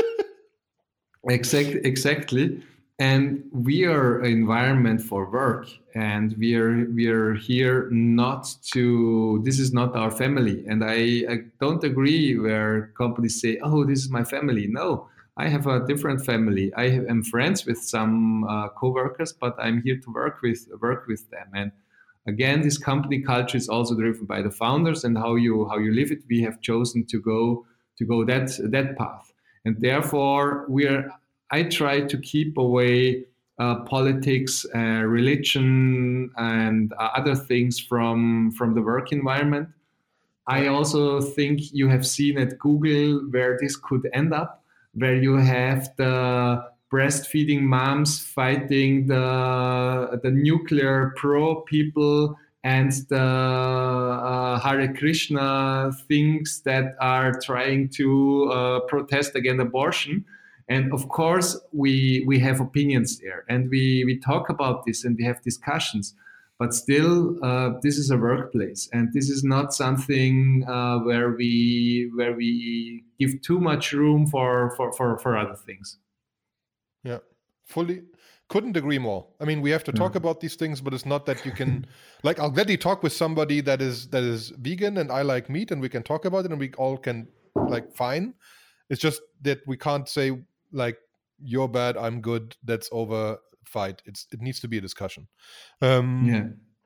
exactly. Exactly. And we are an environment for work, and we are we are here not to. This is not our family, and I, I don't agree where companies say, "Oh, this is my family." No, I have a different family. I am friends with some uh, coworkers, but I'm here to work with work with them. And again, this company culture is also driven by the founders and how you how you live it. We have chosen to go to go that that path. And therefore, we're I try to keep away uh, politics, uh, religion, and uh, other things from, from the work environment. I also think you have seen at Google where this could end up, where you have the breastfeeding moms fighting the, the nuclear pro people and the uh, Hare Krishna things that are trying to uh, protest against abortion. And of course, we we have opinions there, and we, we talk about this and we have discussions. But still, uh, this is a workplace, and this is not something uh, where we where we give too much room for, for, for, for other things. Yeah, fully. Couldn't agree more. I mean, we have to talk about these things, but it's not that you can, like, I'll gladly talk with somebody that is that is vegan and I like meat, and we can talk about it, and we all can, like, fine. It's just that we can't say, like, you're bad, I'm good, that's over, fight. It's it needs to be a discussion. Um, yeah.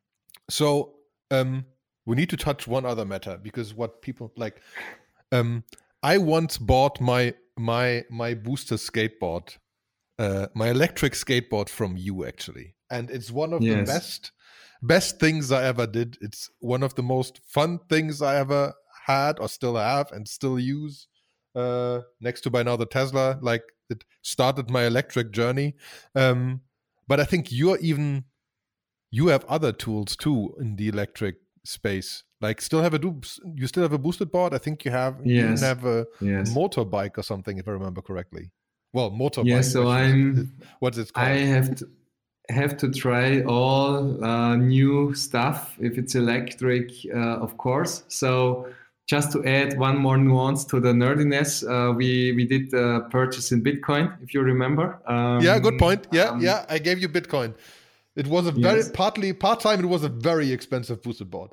So um, we need to touch one other matter, because what people like, um, I once bought my my my booster skateboard. Uh, my electric skateboard from you, actually, and it's one of yes. the best best things I ever did. It's one of the most fun things I ever had, or still have, and still use. Uh, next to by now the Tesla, like, it started my electric journey. Um, but I think you're even you have other tools too in the electric space. Like, still have a do you still have a boosted board? I think you have. Yes. You even have a yes. motorbike or something, if I remember correctly. Well, motorbike. Yeah, so I'm. Is, what's it called? I have to have to try all uh, new stuff if it's electric, uh, of course. So just to add one more nuance to the nerdiness, uh, we we did the purchase in Bitcoin, if you remember. Um, yeah, good point. Yeah, um, yeah, I gave you Bitcoin. It was a very yes. partly part time. It was a very expensive boosted board.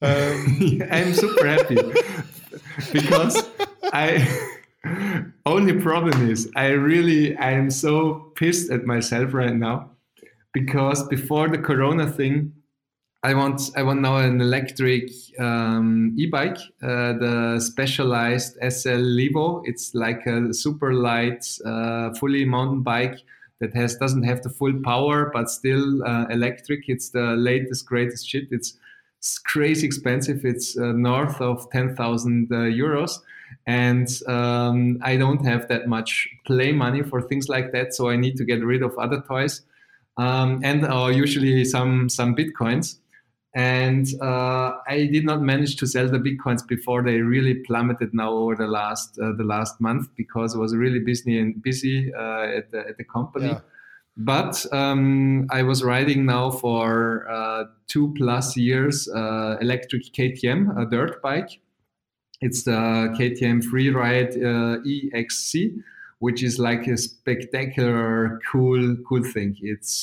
Um, I'm super happy because I. Only problem is I really I am so pissed at myself right now, because before the Corona thing, I want I want now an electric um, e-bike, uh, the Specialized S L Levo. It's like a super light, uh, fully mountain bike that has doesn't have the full power but still uh, electric. It's the latest greatest shit. It's, it's crazy expensive. It's uh, north of ten thousand uh, euros. And um, I don't have that much play money for things like that, so I need to get rid of other toys, um, and uh, usually some some bitcoins. And uh, I did not manage to sell the bitcoins before they really plummeted now over the last uh, the last month, because I was really busy and busy uh, at the at the company. Yeah. But um, I was riding now for uh, two plus years uh, electric K T M, a dirt bike. It's the K T M Freeride uh, E X C, which is like a spectacular, cool, cool thing. It's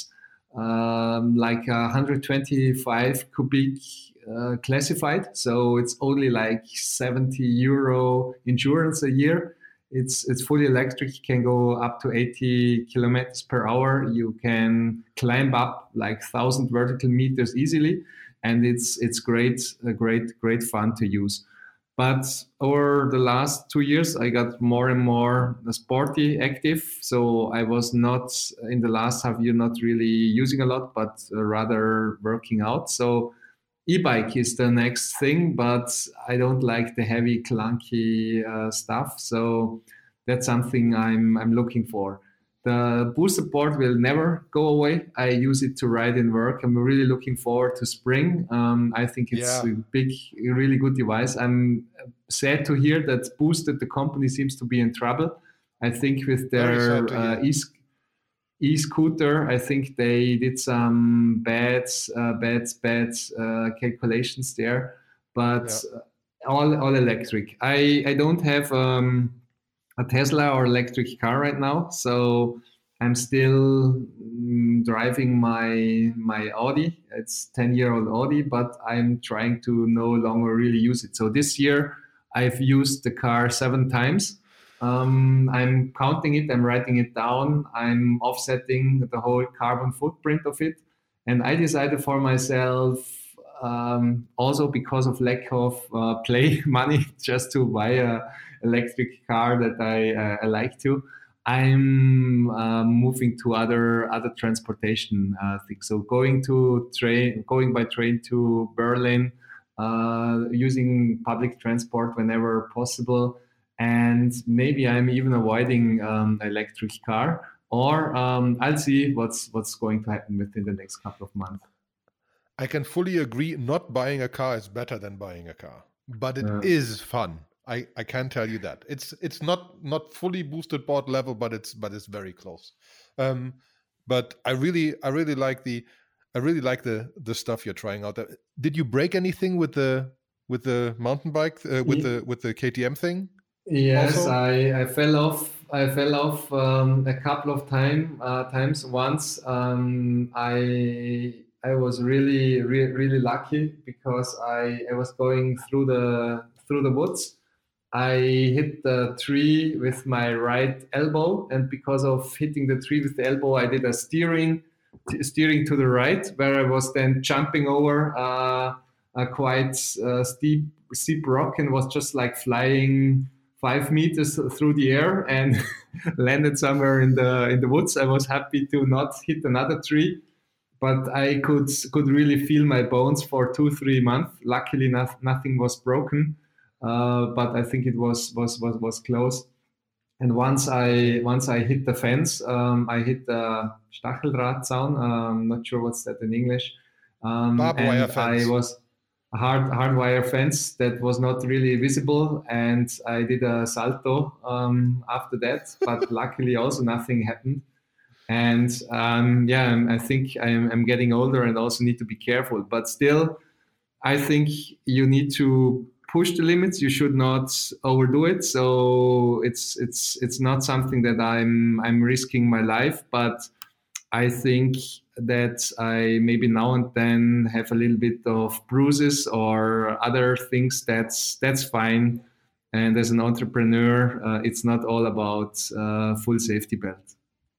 um, like one hundred twenty-five cubic uh, classified, so it's only like seventy euro endurance a year. It's it's fully electric. You can go up to eighty kilometers per hour. You can climb up like thousand vertical meters easily, and it's it's great, uh, great, great fun to use. But over the last two years, I got more and more sporty active. So I was not, in the last half year, not really using a lot, but rather working out. So e-bike is the next thing, but I don't like the heavy, clunky uh, stuff. So that's something I'm I'm looking for. The boosted board will never go away. I use it to ride in work. I'm really looking forward to spring. Um, I think it's yeah. a big, really good device. I'm sad to hear that Boosted, the company, seems to be in trouble. I think with their uh, e- e-scooter, I think they did some bad, uh, bad, bad uh, calculations there. But yeah. all all electric. I, I don't have... Um, a Tesla or electric car right now, so I'm still mm, driving my my Audi. It's ten year old Audi, but I'm trying to no longer really use it. So this year I've used the car seven times. Um, I'm counting it, I'm writing it down, I'm offsetting the whole carbon footprint of it, and I decided for myself um, also because of lack of uh, play money just to buy a electric car that I, uh, I like to, I'm uh, moving to other other transportation uh, things. So going to train, going by train to Berlin, uh, using public transport whenever possible, and maybe I'm even avoiding um, electric car. Or um, I'll see what's what's going to happen within the next couple of months. I can fully agree. Not buying a car is better than buying a car, but it Yeah. is fun. I, I can tell you that it's it's not not fully boosted board level, but it's but it's very close. Um, but I really I really like the I really like the the stuff you're trying out there. Did you break anything with the with the mountain bike uh, with Ye- the with the K T M thing? Yes, Also? I, I fell off. I fell off um, a couple of time uh, times. Once um, I I was really re- really lucky because I, I was going through the through the woods. I hit the tree with my right elbow, and because of hitting the tree with the elbow, I did a steering t- steering to the right, where I was then jumping over uh, a quite uh, steep steep rock and was just like flying five meters through the air and landed somewhere in the in the woods. I was happy to not hit another tree, but I could could really feel my bones for two three months. Luckily, not, nothing was broken, uh, but I think it was was was was close. And once I once I hit the fence, um, I hit the Stacheldrahtzaun. I'm not sure what's that in English. Um, Barbed wire and fence. I was a hard hard wire fence that was not really visible, and I did a salto um, after that. But luckily, also nothing happened. And um, yeah, I'm- I think I'm, I'm getting older and also need to be careful. But still, I think you need to push the limits. You should not overdo it. So it's it's it's not something that I'm I'm risking my life, but I think that I maybe now and then have a little bit of bruises or other things. That's that's fine. And as an entrepreneur, uh, it's not all about uh, full safety belt.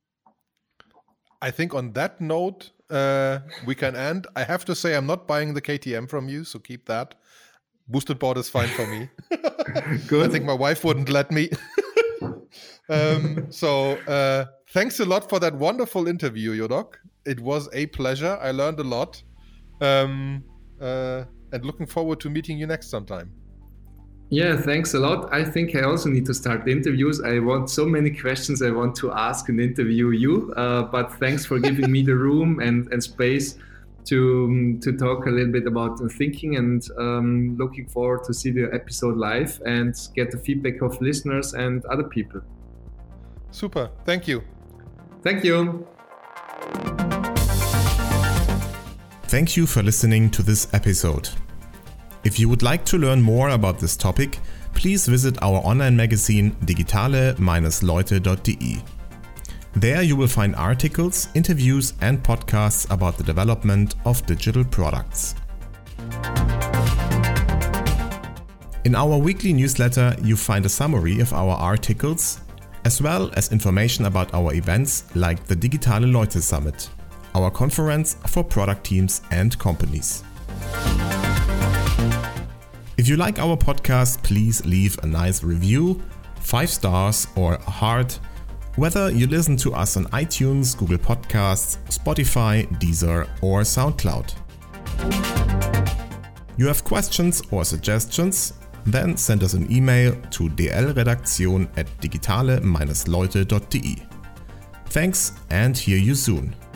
I think on that note, uh, we can end. I have to say, I'm not buying the K T M from you, so keep that. Boosted board is fine for me. Good. I think my wife wouldn't let me. um, so uh, thanks a lot for that wonderful interview, Jodok. It was a pleasure. I learned a lot. Um, uh, and looking forward to meeting you next sometime. Yeah, thanks a lot. I think I also need to start the interviews. I want so many questions I want to ask and interview you, uh, but thanks for giving me the room and, and space to to talk a little bit about the thinking, and um, looking forward to see the episode live and get the feedback of listeners and other people. Super. Thank you. Thank you. Thank you for listening to this episode. If you would like to learn more about this topic, please visit our online magazine digitale Bindestrich leute dot de. There you will find articles, interviews and podcasts about the development of digital products. In our weekly newsletter, you find a summary of our articles, as well as information about our events like the Digitale Leute Summit, our conference for product teams and companies. If you like our podcast, please leave a nice review, five stars or a heart, whether you listen to us on iTunes, Google Podcasts, Spotify, Deezer or SoundCloud. You have questions or suggestions? Then send us an email to d l redaktion at digitale Bindestrich leute dot de. Thanks and hear you soon.